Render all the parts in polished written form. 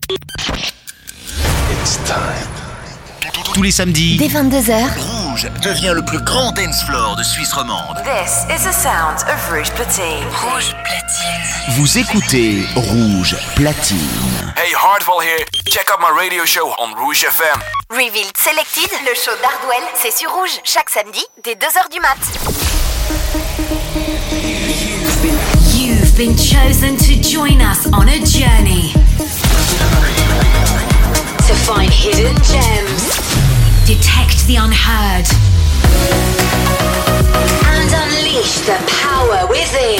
It's time. Tous les samedis, dès 22h, Rouge devient le plus grand dance floor de Suisse romande. This is the sound of Rouge Platine. Rouge Platine. vous écoutez Rouge Platine. Hey, Hardwell here. Check out my radio show on Rouge FM. Revealed Selected, le show d'Hardwell, c'est sur Rouge, chaque samedi, dès 2h du mat. You've been chosen to join us on a journey to find hidden gems, detect the unheard, and unleash the power within.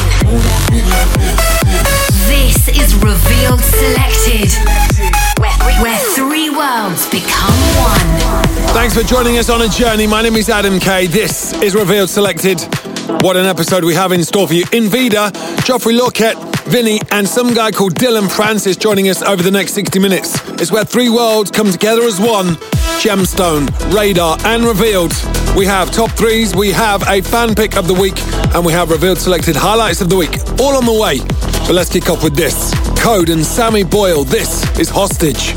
This is Revealed Selected, where three worlds become one. Thanks for joining us on a journey. My name is Adam Kay. This is Revealed Selected. What an episode we have in store for you. Invida, Geoffrey Lorquette, Vinny, and some guy called Dylan Francis joining us over the next 60 minutes. It's where three worlds come together as one. Gemstone, Radar, and Revealed. We have top threes, we have a fan pick of the week, and we have Revealed Selected highlights of the week. All on the way. But let's kick off with this. Code and Sammy Boyle. This is Hostage.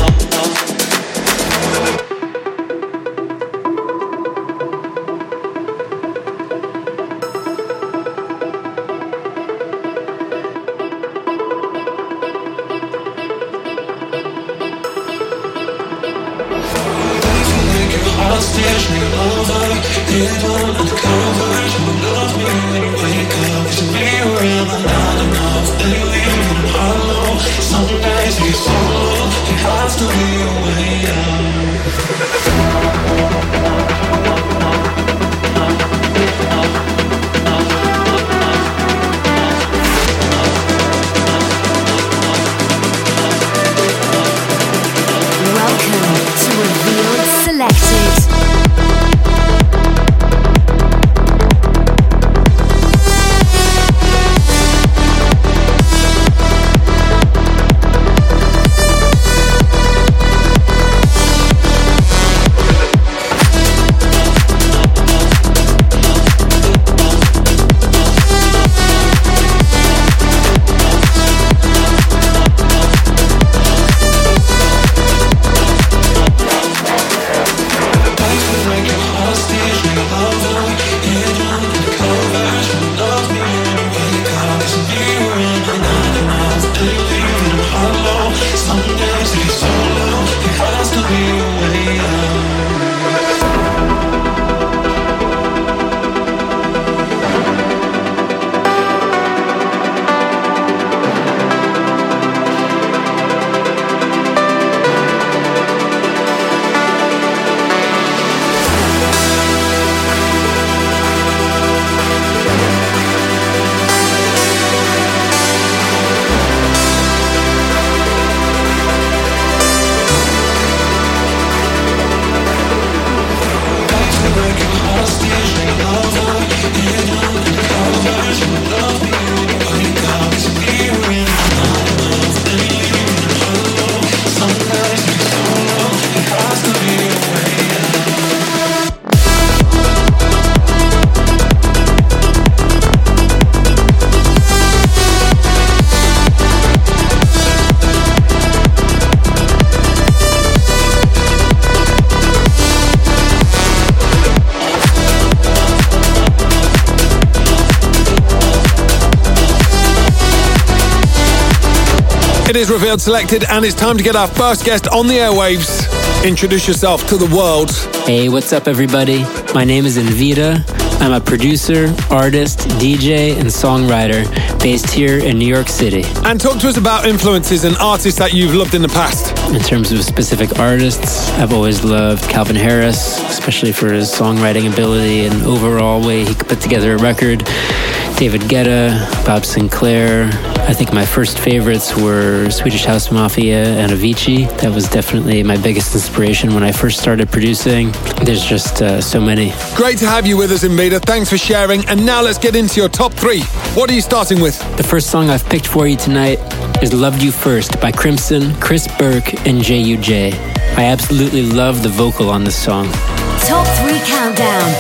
It is Revealed Selected, and it's time to get our first guest on the airwaves. Introduce yourself to the world. Hey, what's up, everybody? My name is Invida. I'm a producer, artist, DJ, and songwriter based here in New York City. And talk to us about influences and artists that you've loved in the past. In terms of specific artists, I've always loved Calvin Harris, especially for his songwriting ability and overall way he could put together a record. David Guetta, Bob Sinclair. I think my first favorites were Swedish House Mafia and Avicii. That was definitely my biggest inspiration when I first started producing. There's just so many. Great to have you with us, Invida. Thanks for sharing. And now let's get into your top three. What are you starting with? The first song I've picked for you tonight is Loved You First by Crimson, Chris Burke, and J.U.J. I absolutely love the vocal on this song. Top 3 Countdown.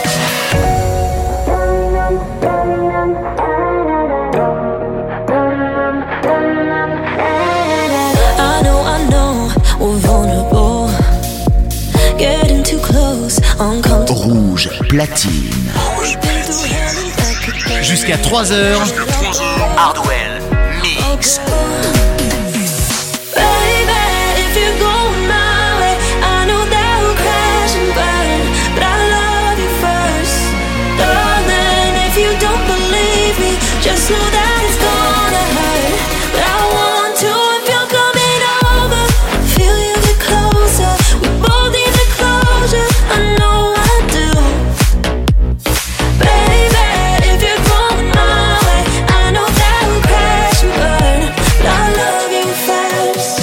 I know platine. Jusqu'à 3h. Hardwell Mix. Just know that it's gonna hurt, but I want to. If you're coming over, feel you get closer. We both need the closure, I know I do. Baby, if you're going my way, I know that we'll crash and burn, but I love you first.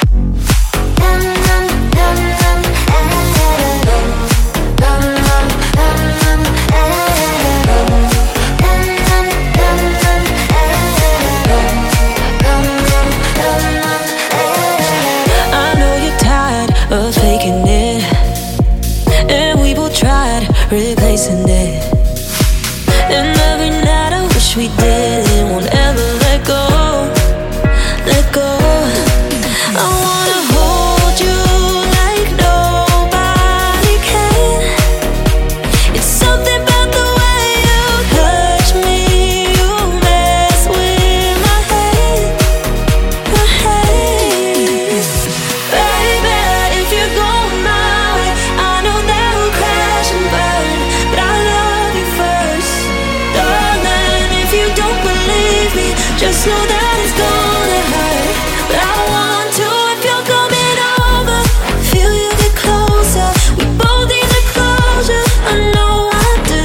Of faking it, and we both tried replacing it. And every night I wish we didn't, won't ever let go, let go. I wanna hold you like nobody can. It's something about the way you touch me, you mess with my head, my head. Baby, if you're going my way, I know that we'll crash and burn, but I love you first. Darling, if you don't believe me, just know that it's gonna hurt, but I want to. If you're coming over, feel you get closer. We both need the closure, I know I do.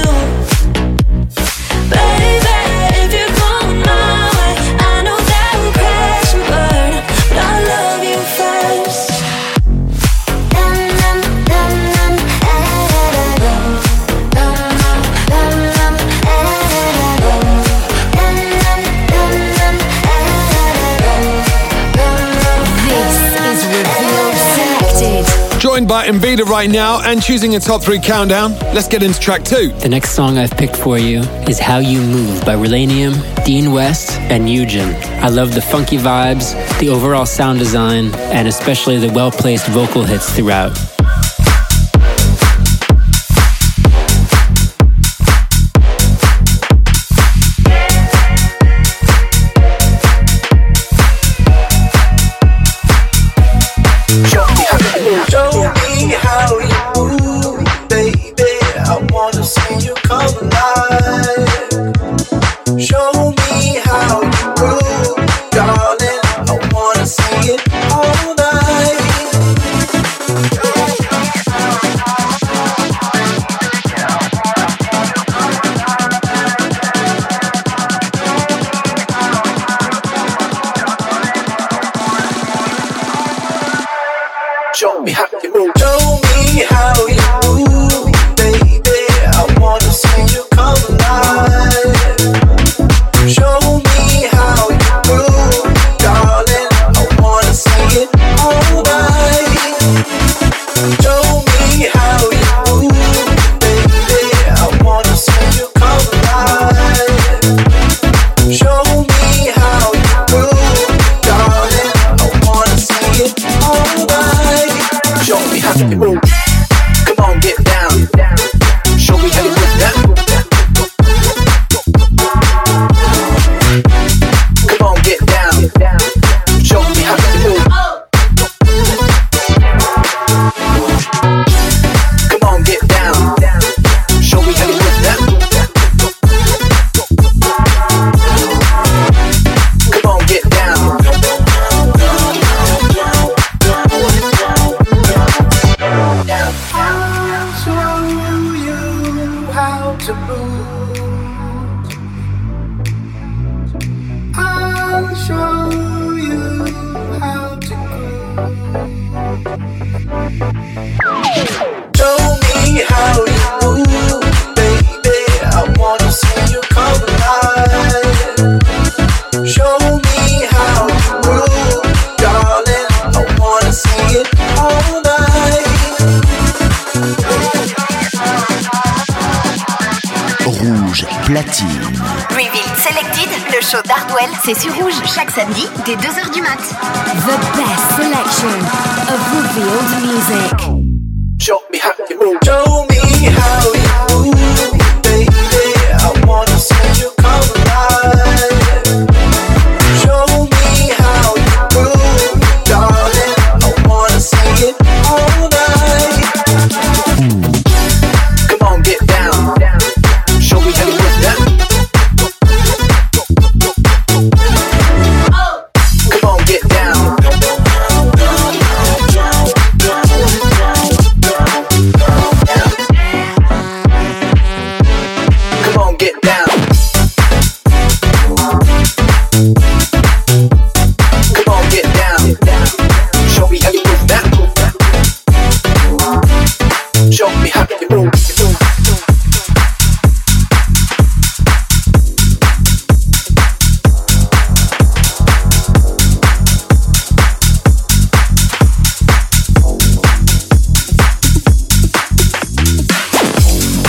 Baby, if you're going my way, I know that we'll crash and burn, but I love you first. Joined by Envida right now and choosing a top 3 countdown. Let's get into track 2. The next song I've picked for you is How You Move by Relanium, Dean West, and Eugen. I love the funky vibes, the overall sound design, and especially the well-placed vocal hits throughout. Show me how you move, baby. I wanna see you come alive. Show me how you move, darling. I wanna see it all night. Show me how you move. Show me how you move, baby. I wanna see you come alive. Show me how you move, darling. I wanna see it all night. Show me how you move, baby. I wanna see you come alive. Show me how you move, darling. I wanna see it all night. Show me how you move. Come on, get down. Show me how you move that. Come on, get down. Show me how you move. Come on, get down. Show me how you move that. Come on, get down. I'll show you how to move. I'll show you how to groove. Show me how you move, baby. I wanna see you come alive. Show me how you move, darling. I wanna see it all night. Rouge platine. Reveal Selected, le show d'Hardwell, c'est sur Rouge, chaque samedi, dès 2h du mat. The best selection of revealed music. Show me how you move. Show me how you move.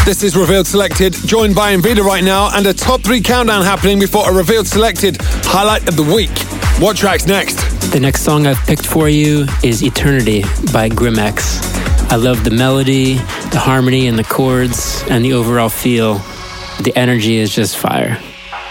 This is Revealed Selected, joined by Invida right now, and a top 3 countdown happening before a Revealed Selected highlight of the week. What track's next? The next song I've picked for you is Eternity by Grimex. I love the melody, the harmony and the chords, and the overall feel. The energy is just fire.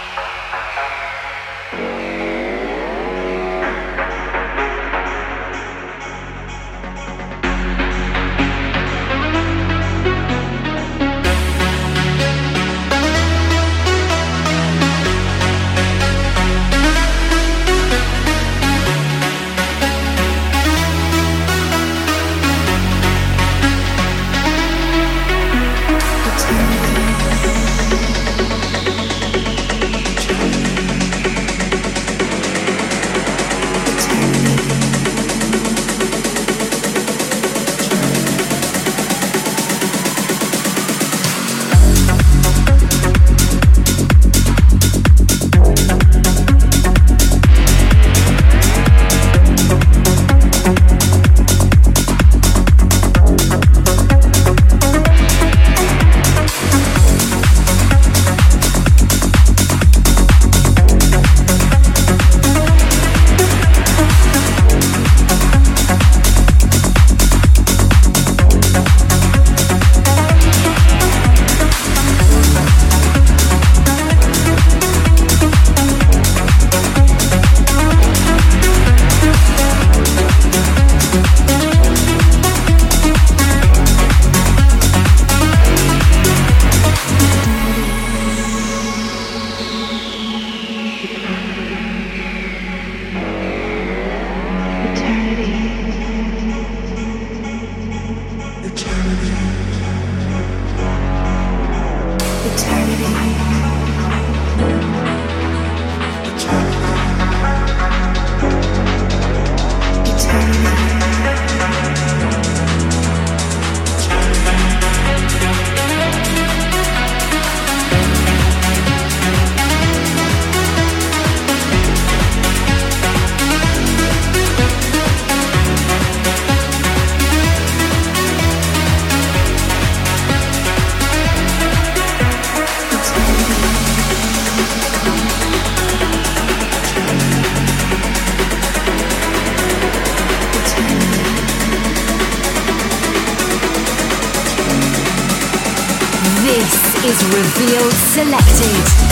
is Revealed Selected.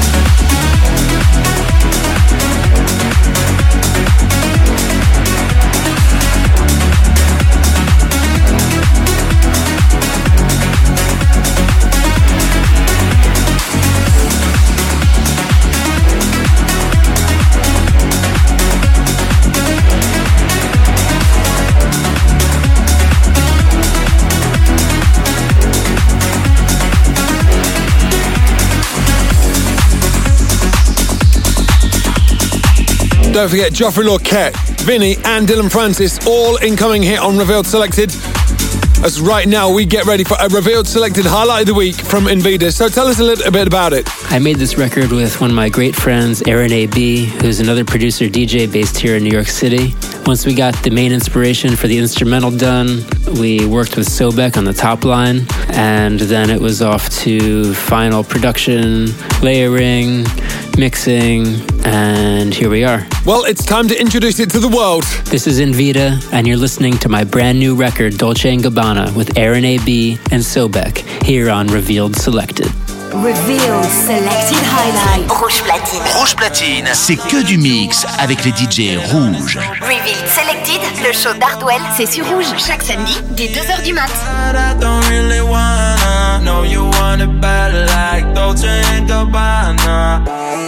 Don't forget Geoffrey Lorquette, Vinny and Dylan Francis, all incoming here on Revealed Selected. As right now we get ready for a Revealed Selected highlight of the week from Invida. So tell us a little bit about it. I made this record with one of my great friends, Aaron A.B., who's another producer DJ based here in New York City. Once we got the main inspiration for the instrumental done, we worked with Sobek on the top line, and then it was off to final production, layering, mixing, and here we are. Well, it's time to introduce it to the world. This is Invida, and you're listening to my brand new record, Dolce & Gabbana, with Aaron A.B. and Sobek, here on Revealed Selected. Revealed Selected Highlight. Rouge Platine. Rouge Platine, c'est que du mix avec les DJ rouges. Revealed Selected, le show d'Hardwell, c'est sur Rouge, chaque samedi, dès 2h du mat. I don't really wanna know you want it bad like Dolce & Gabbana.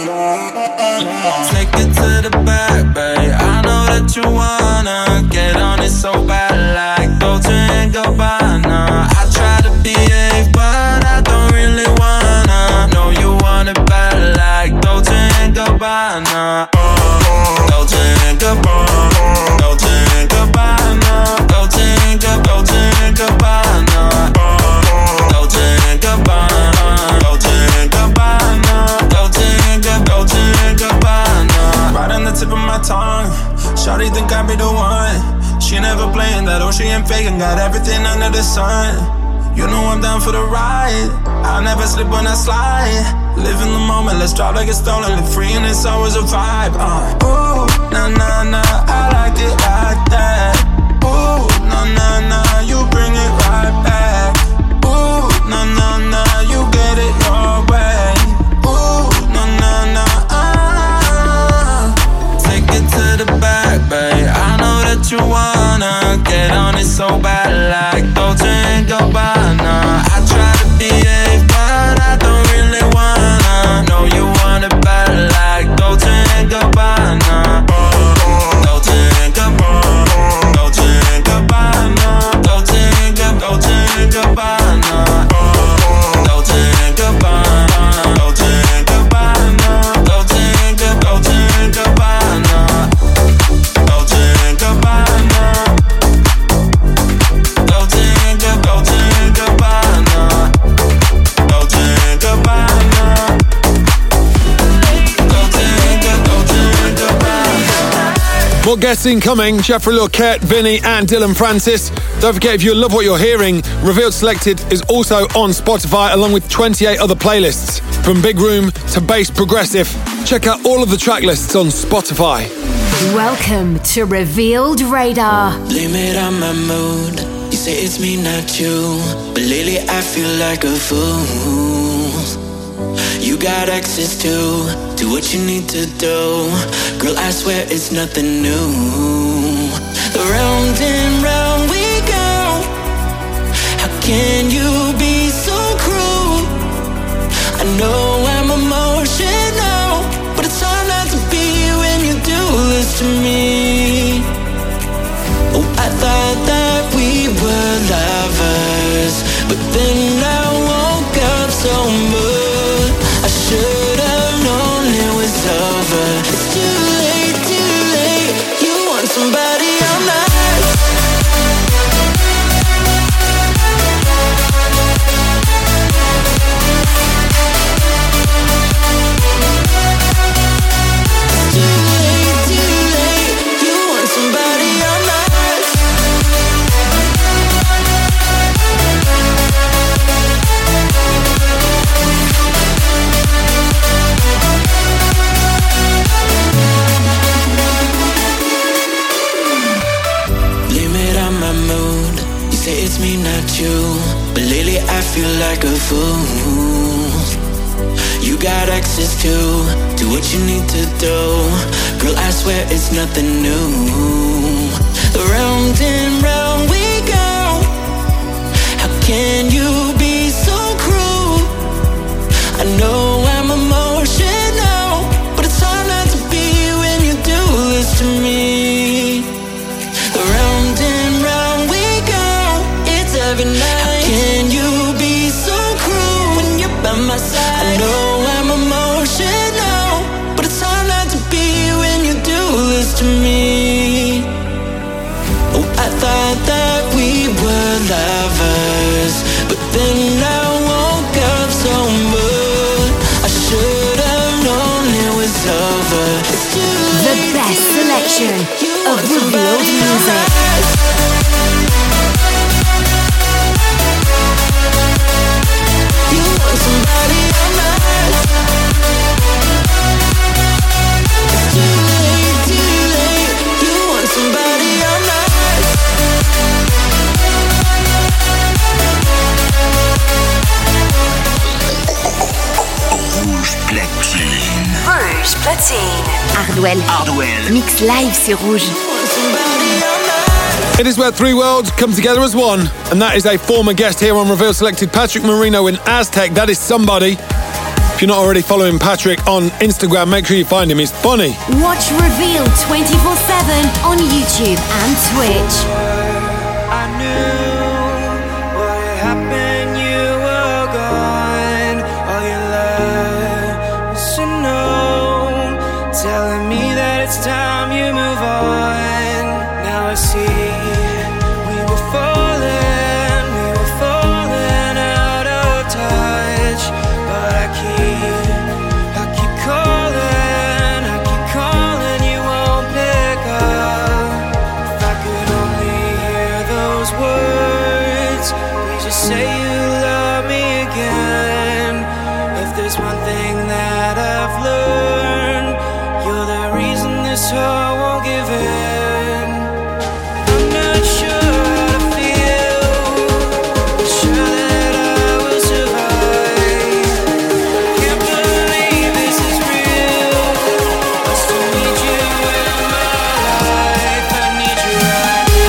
Take it to the back, babe. I know that you wanna get on it so bad like Dolce & Gabbana. I try to behave, but I don't really wanna know you want it bad like Dolce & Gabbana. Dolce & Gabbana. Dolce & Gabbana. Dolce & Gabbana. Dolce & Gabbana. Dolce & Gabbana. Dolce & Gabbana. Dolce & Gabbana. Right on the tip of my tongue. Shawty think I be the one. She never playing that old, she ain't faking. Got everything under the sun. You know I'm down for the ride. I'll never slip when I slide. Live in the moment, let's drive like it's stolen. Live free and it's always a vibe. Ooh, nah, nah, nah, I like it like that. Ooh, nah, nah, nah, you bring it right back. Ooh, nah, nah, nah, you get it your way. Ooh, nah, nah, nah, take it to the back, babe. I know that you wanna get on it so bad, like Dolce & Gabbana. I try to behave, but I don't really wanna. Know you want it bad, like Dolce & Gabbana. Dolce & Gabbana, Dolce & Gabbana, Dolce & Gabbana, Dolce & Gabbana, Dolce & Gabbana, Dolce & Gabbana, Dolce & Gabbana, Dolce & Gabbana. More guests incoming, Jeffrey Lockett, Vinny and Dylan Francis. Don't forget, if you love what you're hearing, Revealed Selected is also on Spotify along with 28 other playlists. From big room to bass progressive. Check out all of the track lists on Spotify. Welcome to Revealed Radar. Blame it on my mood. You say it's me, not you. But lately I feel like a fool. You got access to what you need to do. Girl, I swear it's nothing new. Round and round we go. How can you be so cruel? I know I'm emotional, but it's hard not to be when you do this to me. Oh, I thought that we were lovers, but then I woke up so moved. I should have known it was over. It's too late, you want somebody I'm not. It's me, not you. But lately I feel like a fool. You got access to what you need to do. Girl, I swear it's nothing new. Round and round we go. How can you be so cruel? I know I'm emotional, but it's hard not to be when you do this to me. Round and round we go. Every night. How can you be so cruel when you're by my side? I know I'm emotional, but it's hard not to be when you do this to me. Oh, I thought that we were lovers, but then I woke up so moved. I should have known it was over. It's too late. The best selection of Revealed music. Somebody I'm not. It's too late, you want somebody I'm not. Rouge Platine. Rouge Platine. Hardwell. Mix live sur Rouge. It is where three worlds come together as one, and that is a former guest here on Reveal Selected, Patrick Marino in Aztec. That is somebody. If you're not already following Patrick on Instagram, make sure you find him. He's funny. Watch Reveal 24/7 on YouTube and Twitch. I knew what had happened, you were gone. All your love was to know, telling me that it's time you move on. Now I see we were falling out of touch, but I keep calling, you won't pick up. If I could only say you love me again. If there's one thing that I've learned, you're the reason this heart won't give in. I'm not sure how to feel, but sure that I will survive. Can't believe this is real. I still need you in my life. I need you right now.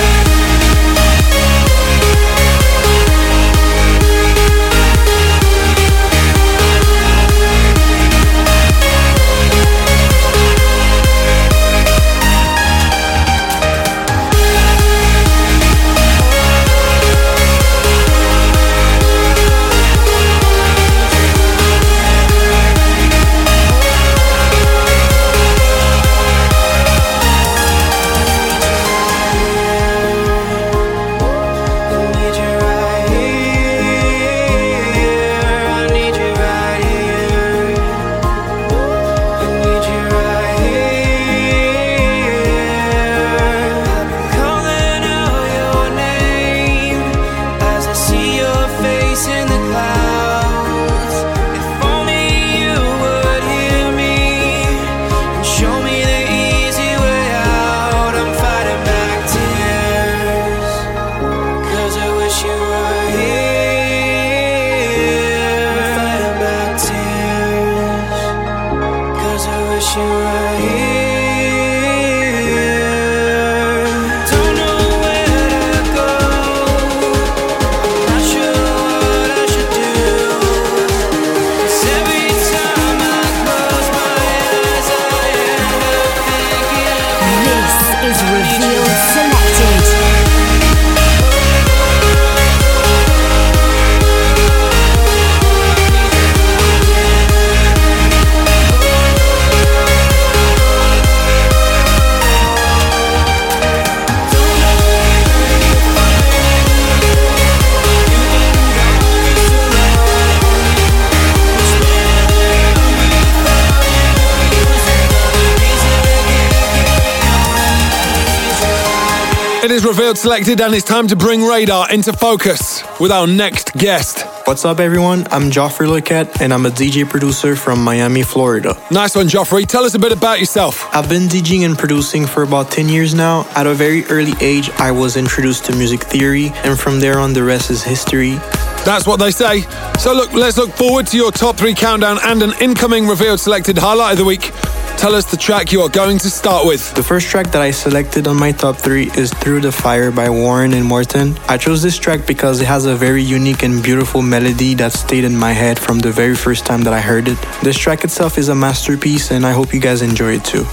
It is Revealed Selected, and it's time to bring Radar into focus with our next guest. What's up, everyone? I'm Joffrey Lequette, and I'm a DJ producer from Miami, Florida. Nice one, Joffrey. Tell us a bit about yourself. I've been DJing and producing for about 10 years now. At a very early age, I was introduced to music theory, and from there on, the rest is history. That's what they say. So look, let's look forward to your top 3 countdown and an incoming Revealed Selected highlight of the week. Tell us the track you are going to start with. The first track that I selected on my top 3 is Through the Fire by Warren and Morton. I chose this track because it has a very unique and beautiful melody that stayed in my head from the very first time that I heard it. This track itself is a masterpiece, and I hope you guys enjoy it too.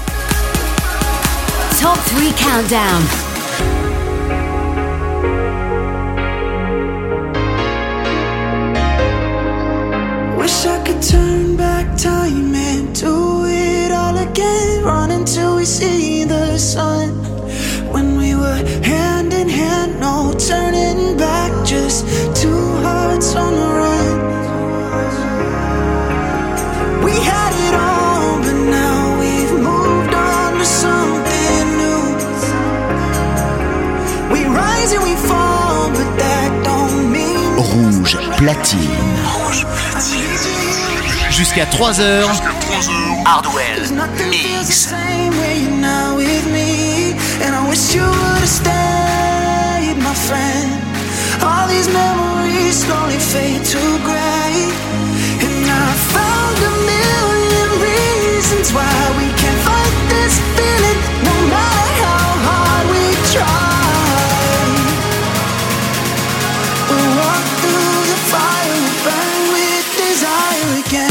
Top 3 countdown. Wish I could turn back time and do it all again. Run until we see the sun. When we were hand in hand, no turning back. Just 2 hearts on the run. We had it all, but now we've moved on to something new. We rise and we fall, but that don't mean Rouge Platine. Jusqu'à 3h. Hardwell Mix. And I wish you would have stayed, my friend. All these memories slowly fade to gray. And I found a million reasons why we can't fight this feeling, no matter how hard we try. We'll walk through the fire, we'll burn with desire again.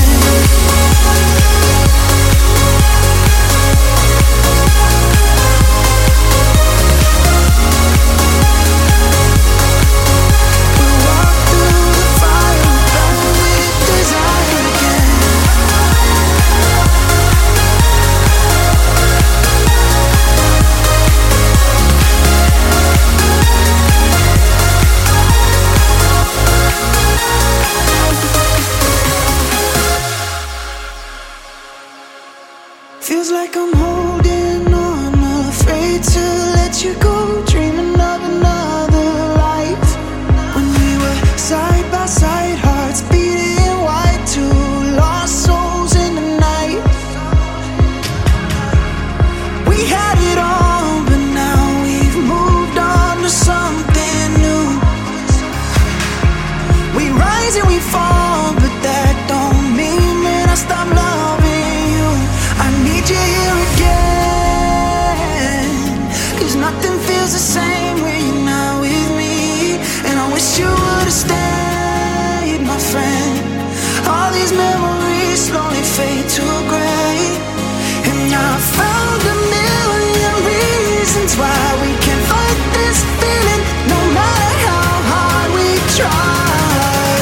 feels the same when you're not with me. And I wish you would've stayed, my friend. All these memories slowly fade to gray. And I found a million reasons why we can't fight this feeling, no matter how hard we try.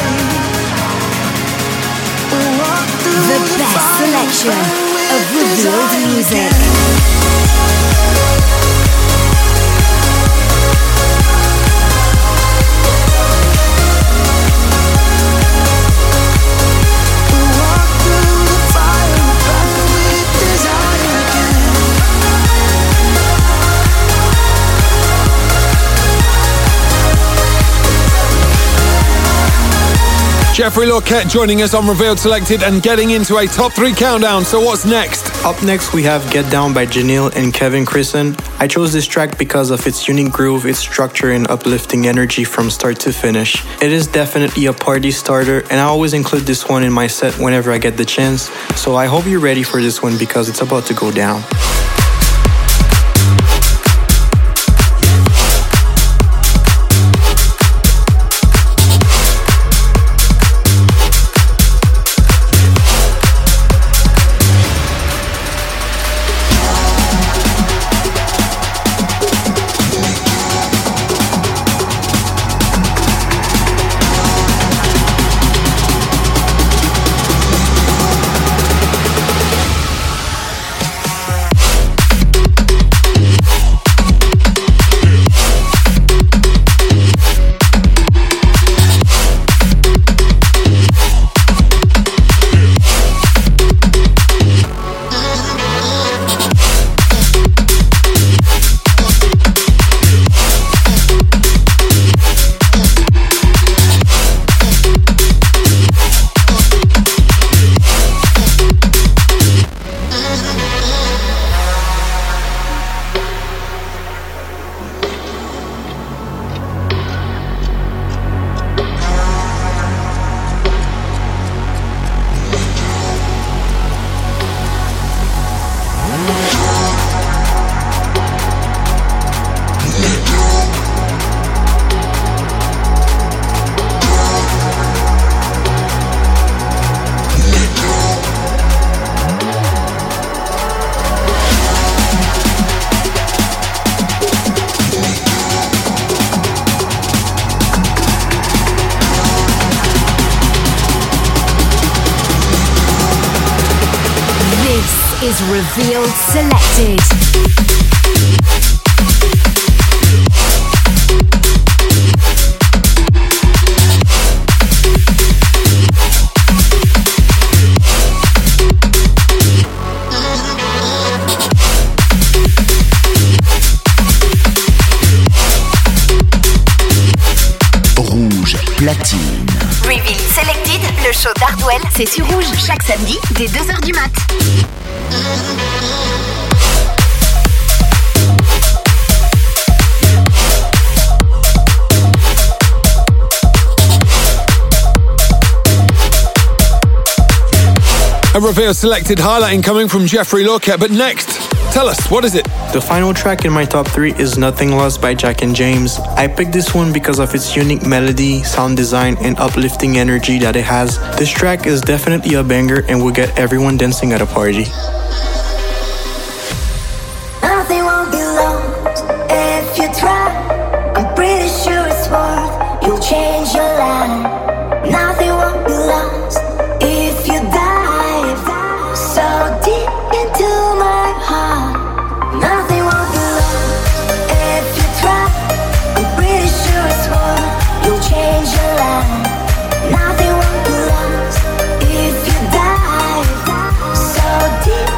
We'll walk through the best selection of revealed music. Jeffrey Lorquette joining us on Revealed Selected and getting into a top 3 countdown. So what's next? Up next we have Get Down by Janelle and Kevin Christen. I chose this track because of its unique groove, its structure and uplifting energy from start to finish. It is definitely a party starter and I always include this one in my set whenever I get the chance. So I hope you're ready for this one because it's about to go down. Is Revealed Selected. Rouge Platine. Revealed Selected, le show d'Hardwell, c'est sur Rouge, chaque samedi, dès 2h du mat'. A Revealed Selected highlighting coming from Jeffrey Lorquette. But next, tell us, what is it? The final track in my top 3 is Nothing Lost by Jack and James. I picked this one because of its unique melody, sound design, and uplifting energy that it has. This track is definitely a banger and will get everyone dancing at a party. Nothing won't be lost if you try. I'm pretty sure it's worth. You'll change your life. Nothing won't be lost if you dive so deep into my heart. Nothing won't be lost if you try. I'm pretty sure it's worth. You'll change your life. Nothing won't be lost if you dive so deep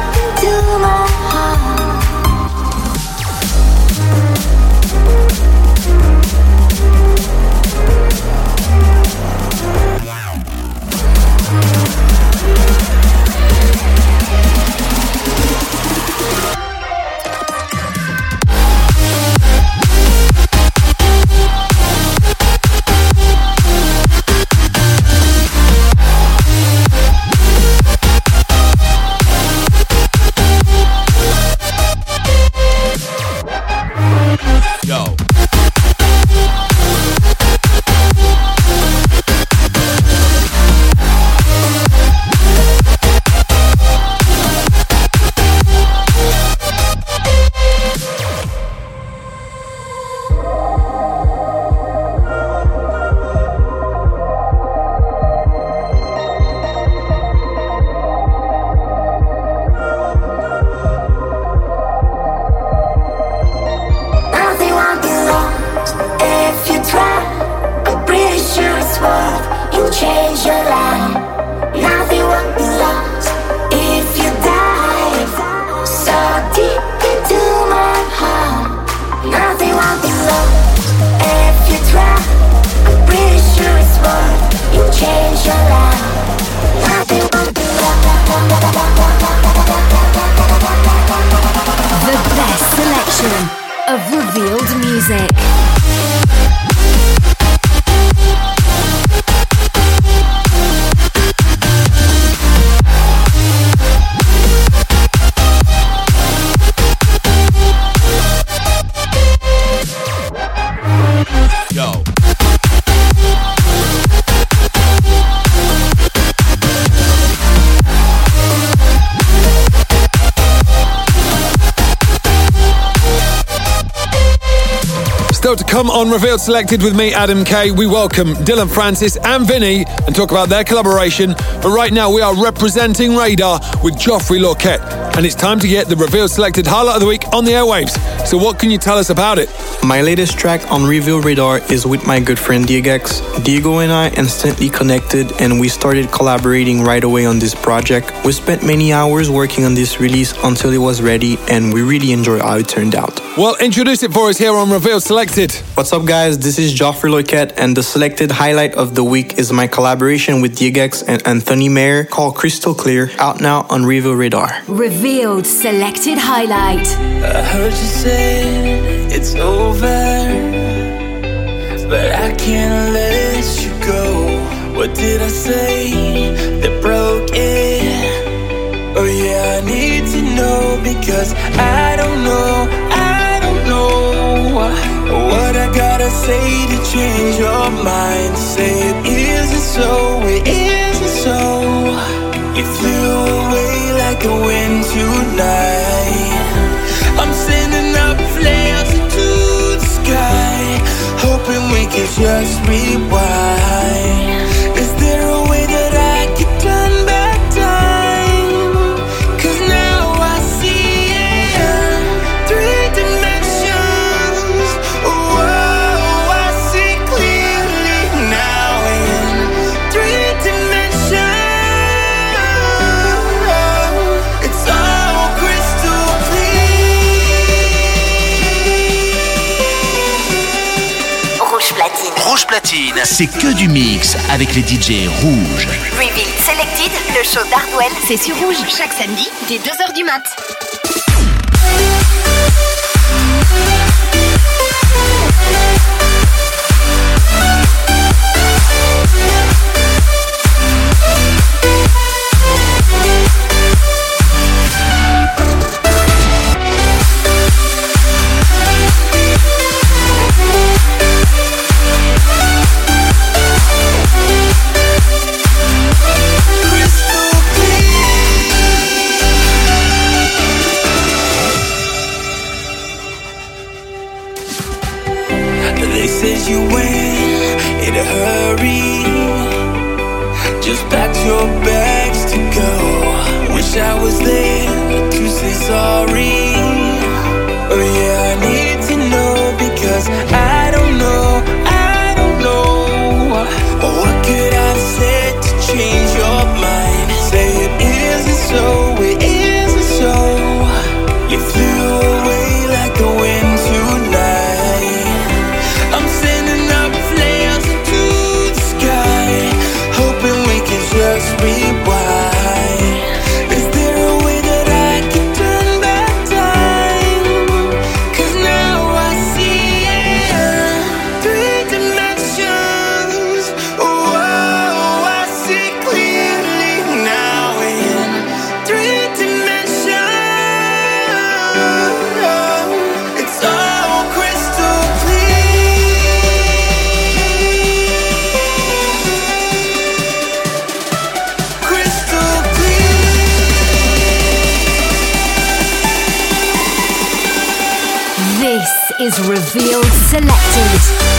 Yo. Still to come on Revealed Selected with me, Adam Kay. We welcome Dillon Francis and Vinny and talk about their collaboration. But right now we are representing Radar with Geoffrey Lorquette. And it's time to get the Revealed Selected highlight of the week on the airwaves. So what can you tell us about it? My latest track on Revealed Radar is with my good friend Diegex. Diego and I instantly connected and we started collaborating right away on this project. We spent many hours working on this release until it was ready and we really enjoyed how it turned out. Well, introduce it for us here on Revealed Selected. What's up guys, this is Geoffrey Lorquette and the selected highlight of the week is my collaboration with Diegex and Anthony Mayer called Crystal Clear, out now on Revealed Radar. Revealed Selected Highlight. I heard you say it's over, but I can't let you go. What did I say that broke it? Oh yeah, I need to know because I don't know what I gotta say to change your mind. Say it isn't so, it isn't so. You flew away like a wind tonight. I'm sending up flares into the sky, hoping we can just rewind. Is there a way that I could turn back time? 'Cause now I see it, 3 dimensions. Whoa, I see clearly now in 3 dimensions. It's all crystal Rouge Platine, c'est que du mix avec les DJ rouges. Revealed Selected, le show d'Hardwell, c'est sur Rouge, chaque samedi, dès 2h du mat'. You went in a hurry, just packed your bags to go. Wish I was there to say sorry. Oh yeah, I need to know because I don't know what could I have said to change your mind. Say it isn't so, it isn't so. You flew away like a wind tonight. I'm sending up flares into the sky, hoping we can just rewind. Is there a way that I can turn back time? 'Cause now Revealed Selected.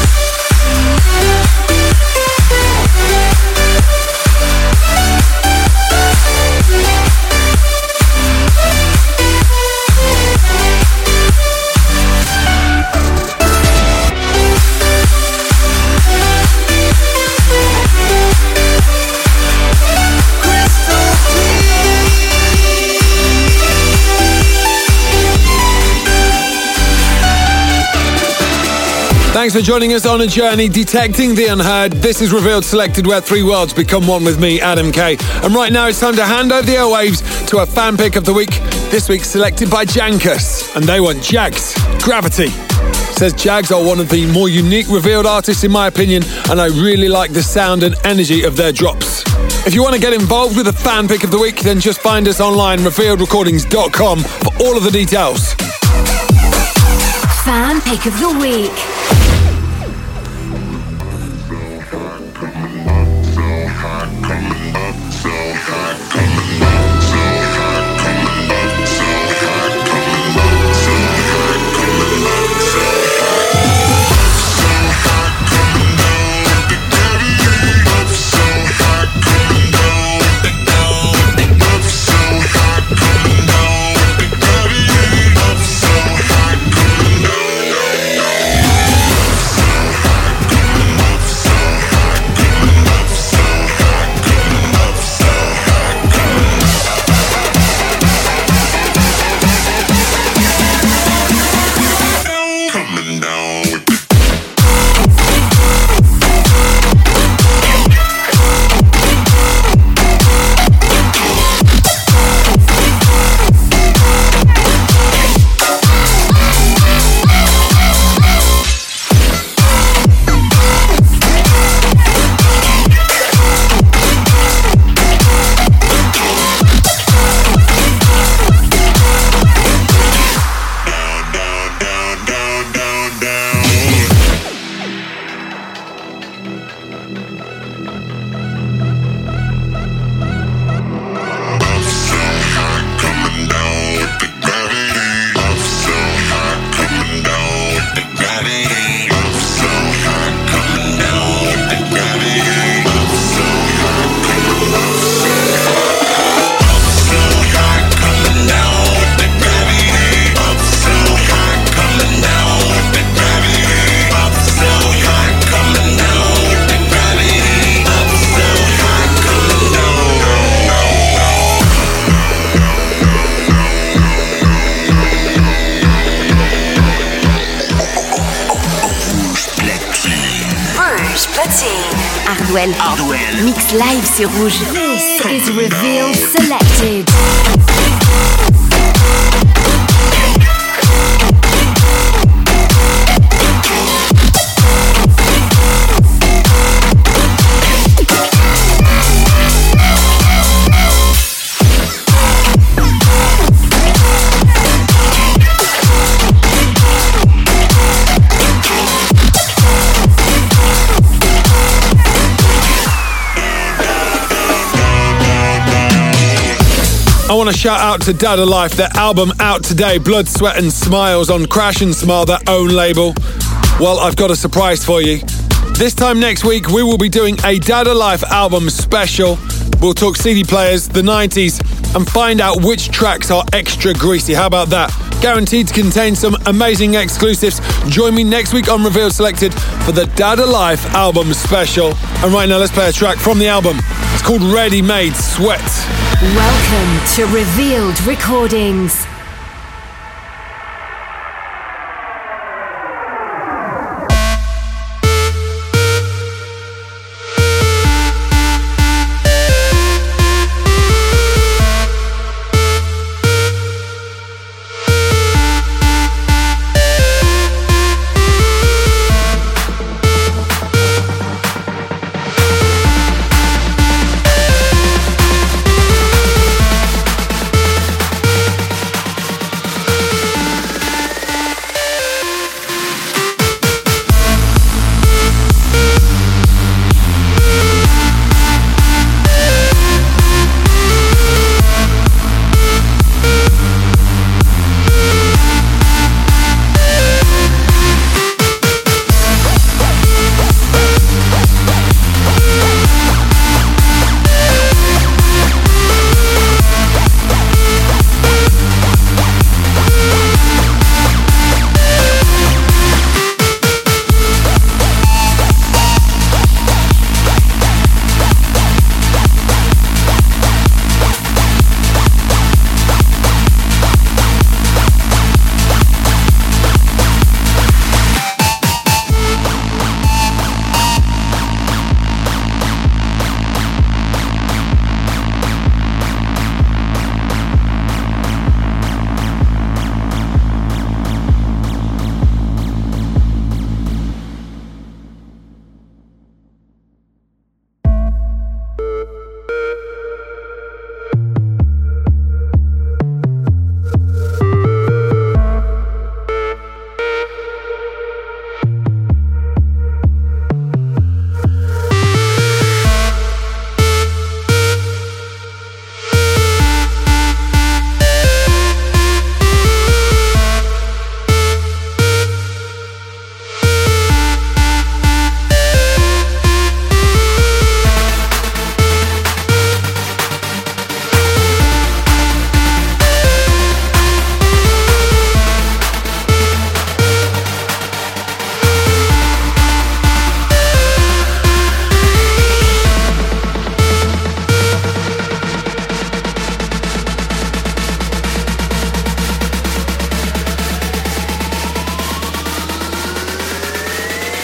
Thanks for joining us on a journey detecting the unheard. This is Revealed Selected, where three worlds become one with me, Adam K. And right now it's time to hand over the airwaves to a fan pick of the week. This week selected by Jankus. And they want Jags, Gravity. Says Jags are one of the more unique Revealed artists in my opinion, and I really like the sound and energy of their drops. If you want to get involved with the fan pick of the week, then just find us online, revealedrecordings.com, for all of the details. Fan pick of the week. Hardwell. Mix live sur Rouge. This is Revealed Selected. I want to shout out to Dada Life, their album out today, Blood, Sweat and Smiles on Crash and Smile, their own label. Well, I've got a surprise for you. This time next week, we will be doing a Dada Life album special. We'll talk CD players, the 90s, and find out which tracks are extra greasy. How about that? Guaranteed to contain some amazing exclusives. Join me next week on Revealed Selected for the Dada Life album special. And right now, let's play a track from the album. It's called Ready Made Sweat. Welcome to Revealed Recordings.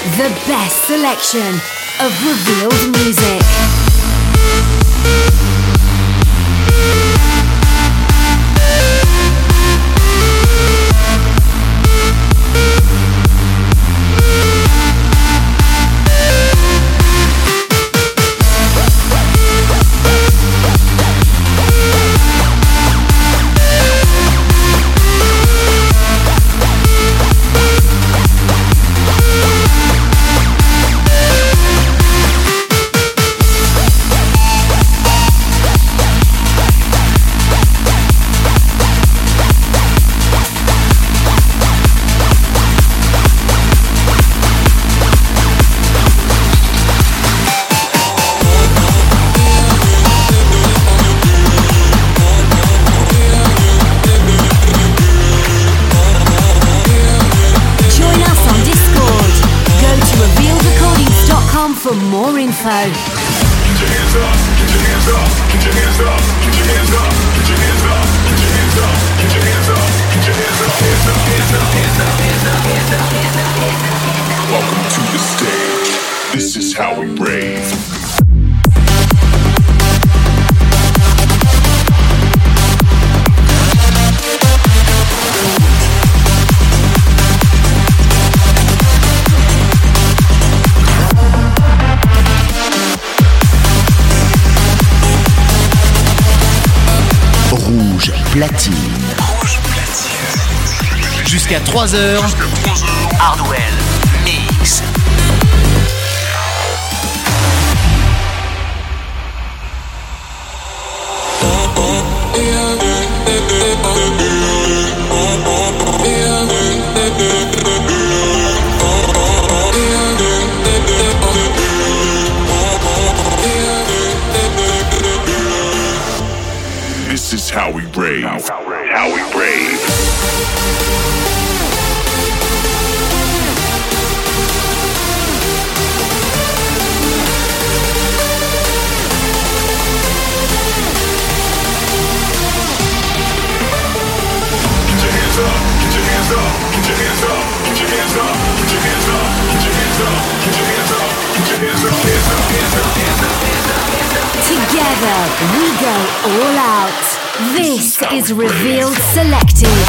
The best selection of revealed music. For more info. Welcome to the stage. This is how we rave. Rouge platine. Jusqu'à 3h. Hardwell Mix. This is how we rave. How we rave. Together we go all out. This is Revealed Selected.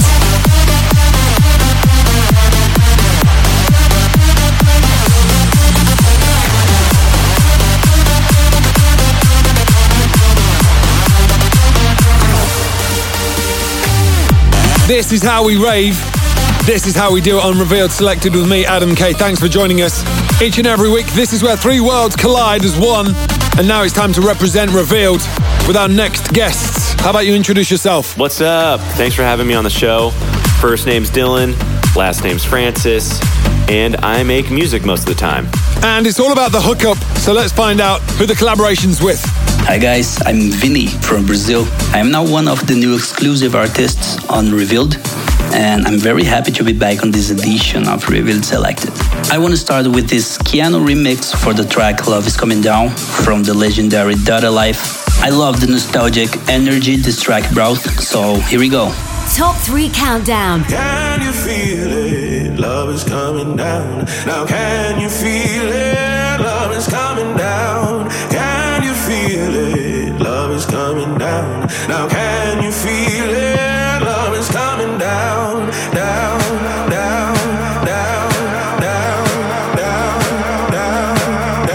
This is how we rave. This is how we do it on Revealed Selected with me, Adam K. Thanks for joining us. Each and every week, this is where three worlds collide as one. And now it's time to represent Revealed with our next guests. How about you introduce yourself? What's up? Thanks for having me on the show. First name's Dylan, last name's Francis, and I make music most of the time. And it's all about the hookup, so let's find out who the collaboration's with. Hi guys, I'm Vinny from Brazil. I am now one of the new exclusive artists on Revealed, and I'm very happy to be back on this edition of Revealed Selected. I want to start with this Keanu remix for the track Love Is Coming Down from the legendary Dada Life. I love the nostalgic energy this track brought, so here we go. Top 3 countdown. Can you feel it? Love is coming down. Now can you feel it? Love is coming down. Can you feel it? Love is coming down. Now can you feel it? Love is coming down, down, down, down, down, down, down, down,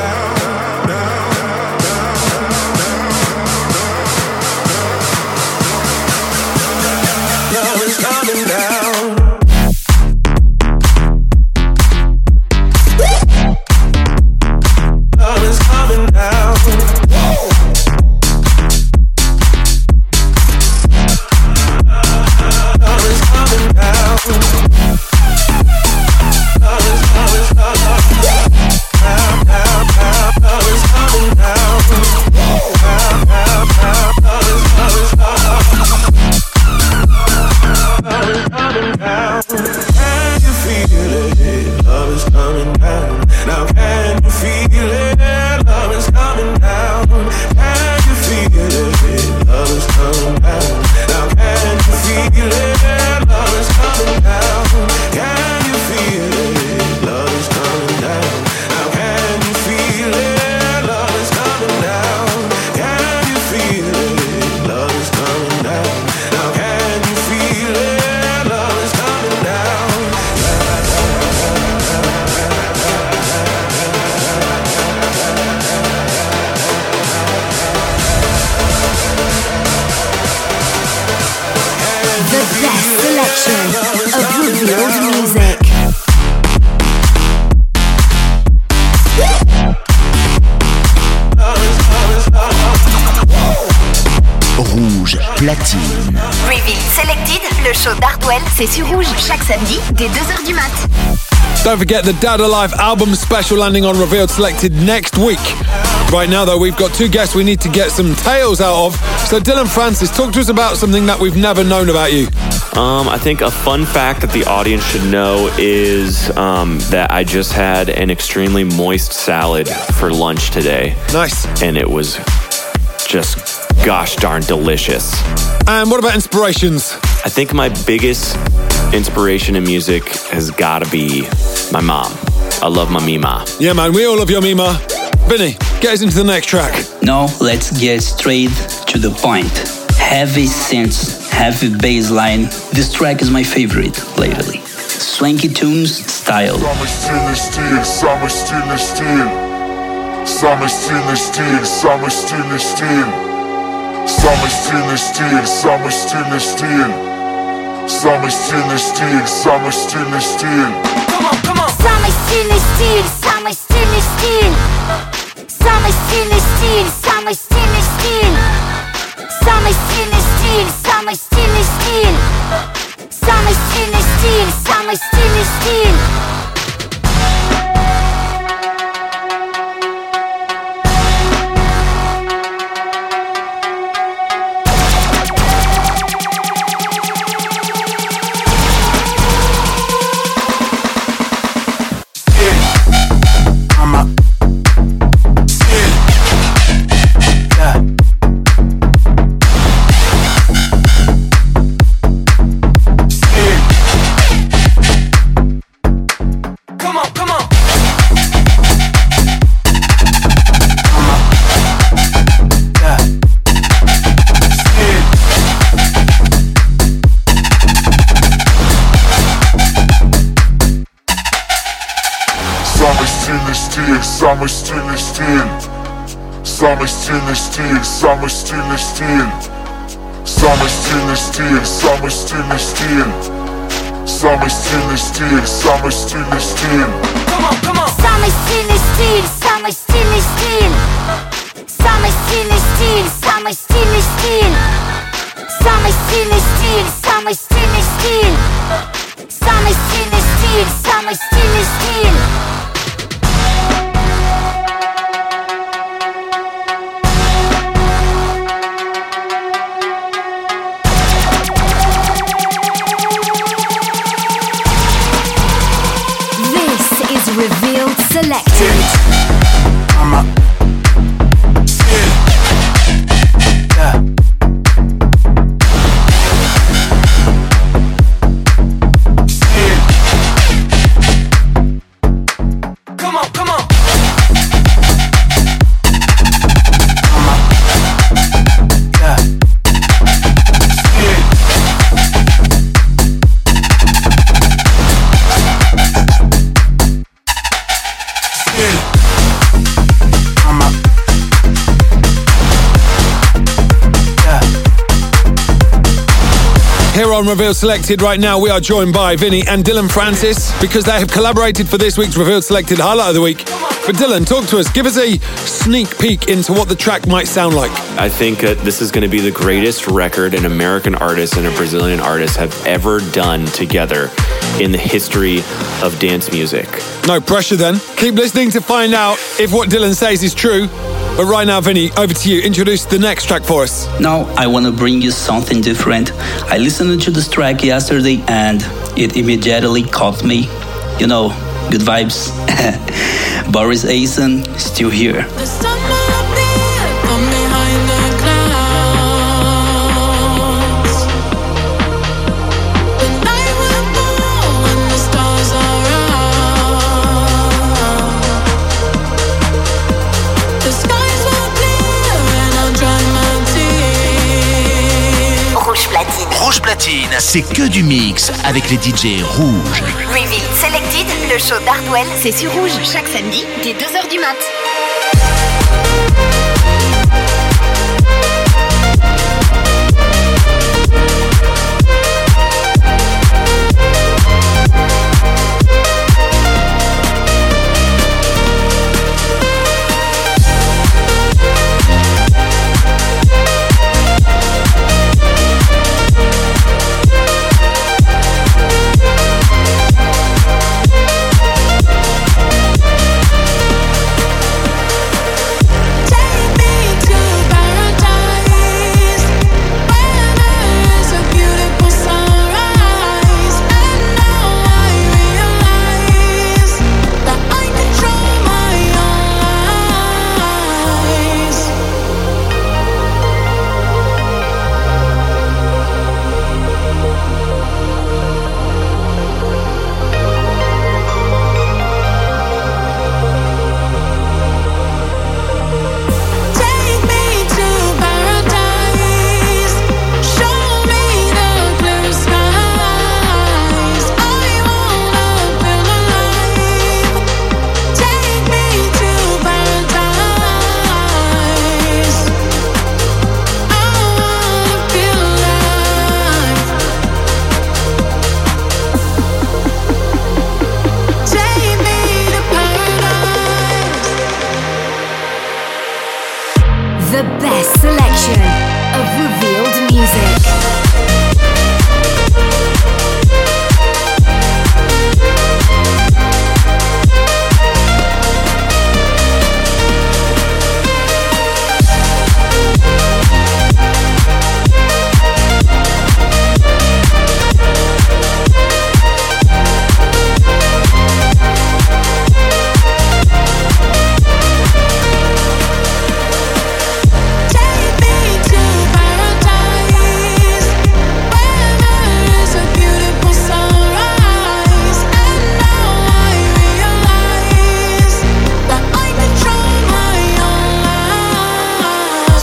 down. Love is coming down. platine. Reveal Selected, le show d'Hardwell, c'est sur Rouge, chaque samedi, dès 2h du mat. Don't forget the Dad Alive album special landing on Revealed Selected next week. Right now, though, we've got two guests we need to get some tales out of. So, Dillon Francis, talk to us about something that we've never known about you. I think a fun fact that the audience should know is that I just had an extremely moist salad for lunch today. Nice. And it was just gosh darn delicious. And what about inspirations? I think my biggest inspiration in music has got to be my mom. I love my Mima. Yeah, man, we all love your Mima. Vinny, get us into the next track. Now, let's get straight to the point. Heavy synths, heavy bass line. This track is my favorite lately. Swanky tunes style. Summer steel, summer steel, steel. Summer steel, steel, summer steel, steel. Summer steel, steel, summer steel, steel. Summer steel, steel, summer steel, steel. Come on. Summer steel, steel, summer steel, steel. Summer steel, steel, summer steel, steel. Summer steel, steel, summer steel, steel. Summer steel, steel, summer steel, steel. Summer steel, steel. Summer steel, steel, summer steel, steel. Summer steel, steel, summer steel, steel. Summer steel, steel, summer steel, steel. Come on. Summer steel, steel, summer steel, steel. Summer steel, steel, summer steel, steel. Summer steel, steel, summer steel, steel. Summer steel, steel, summer steel, steel. Revealed Selected. Here on Revealed Selected right now, we are joined by Vinny and Dillon Francis because they have collaborated for this week's Revealed Selected Highlight of the Week. But Dillon, talk to us. Give us a sneak peek into what the track might sound like. I think that this is going to be the greatest record an American artist and a Brazilian artist have ever done together in the history of dance music. No pressure then. Keep listening to find out if what Dillon says is true. But right now, Vinny, over to you. Introduce the next track for us. Now, I want to bring you something different. I listened to this track yesterday and it immediately caught me. You know, good vibes. Boris Asen, Still Here. Rouge Platine, c'est que du mix avec les DJ rouges. Reveal Selected, le show d'Hardwell, c'est sur Rouge, chaque samedi, dès 2h du mat.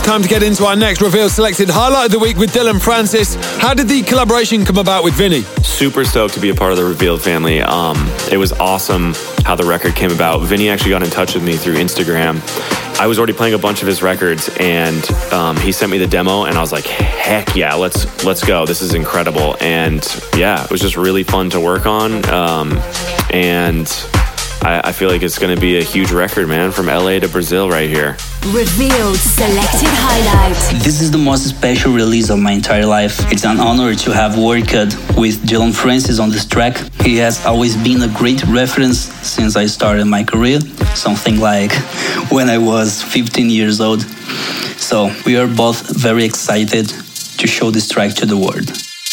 time to get into our next Revealed Selected highlight of the week with Dillon Francis. How did the collaboration come about with Vinny? Super stoked to be a part of the Revealed family. It was awesome how the record came about. Vinny actually got in touch with me through Instagram. I was already playing a bunch of his records, and he sent me the demo, and I was like, heck yeah, let's go. This is incredible. And yeah, it was just really fun to work on. And I feel like it's going to be a huge record, man, from LA to Brazil right here. Revealed Selected Highlight. This is the most special release of my entire life. It's an honor to have worked with Dillon Francis on this track. He has always been a great reference since I started my career, something like when I was 15 years old. So we are both very excited to show this track to the world.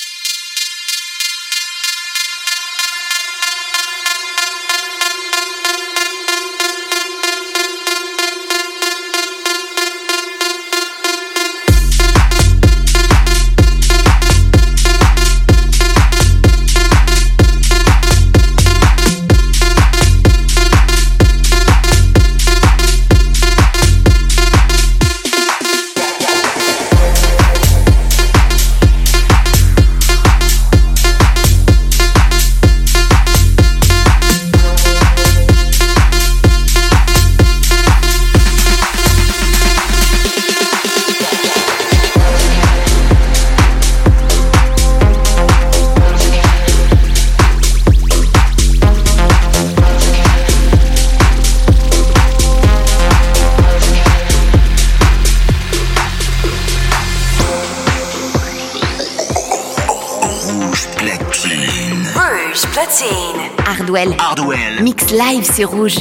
Hardwell. Mix live sur Rouge.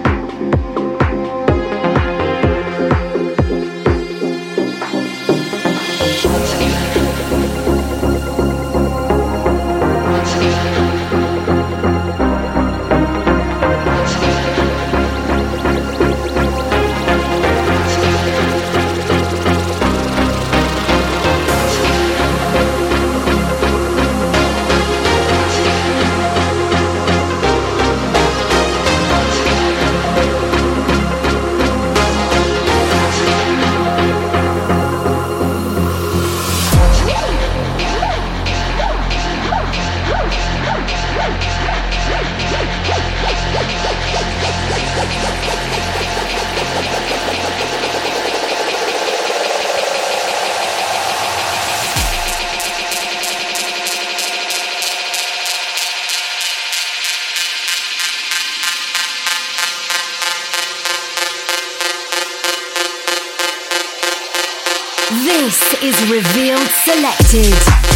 This is Revealed Selected.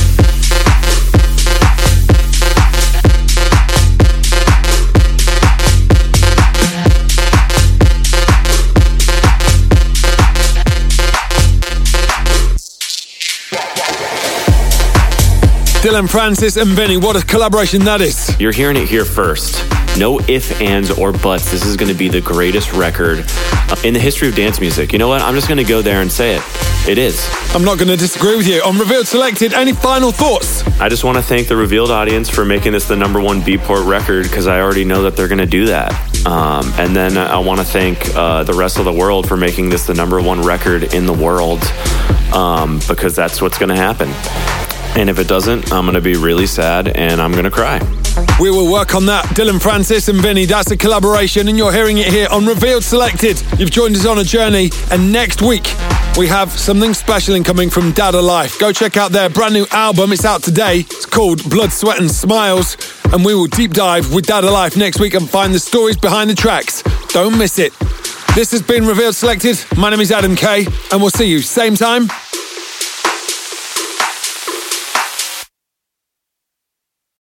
Dillon Francis and Vinny, what a collaboration that is. You're hearing it here first. No ifs, ands, or buts. This is going to be the greatest record in the history of dance music. You know what? I'm just going to go there and say it. It is. I'm not going to disagree with you. On Revealed Selected, any final thoughts? I just want to thank the Revealed audience for making this the #1 Beatport record, because I already know that they're going to do that. And then I want to thank the rest of the world for making this the #1 record in the world, because that's what's going to happen. And if it doesn't, I'm going to be really sad and I'm going to cry. We will work on that. Dillon Francis and Vinny, that's a collaboration, and you're hearing it here on Revealed Selected. You've joined us on a journey, and next week we have something special incoming from Dada Life. Go check out their brand new album. It's out today. It's called Blood, Sweat and Smiles, and we will deep dive with Dada Life next week and find the stories behind the tracks. Don't miss it. This has been Revealed Selected. My name is Adam Kay, and we'll see you same time,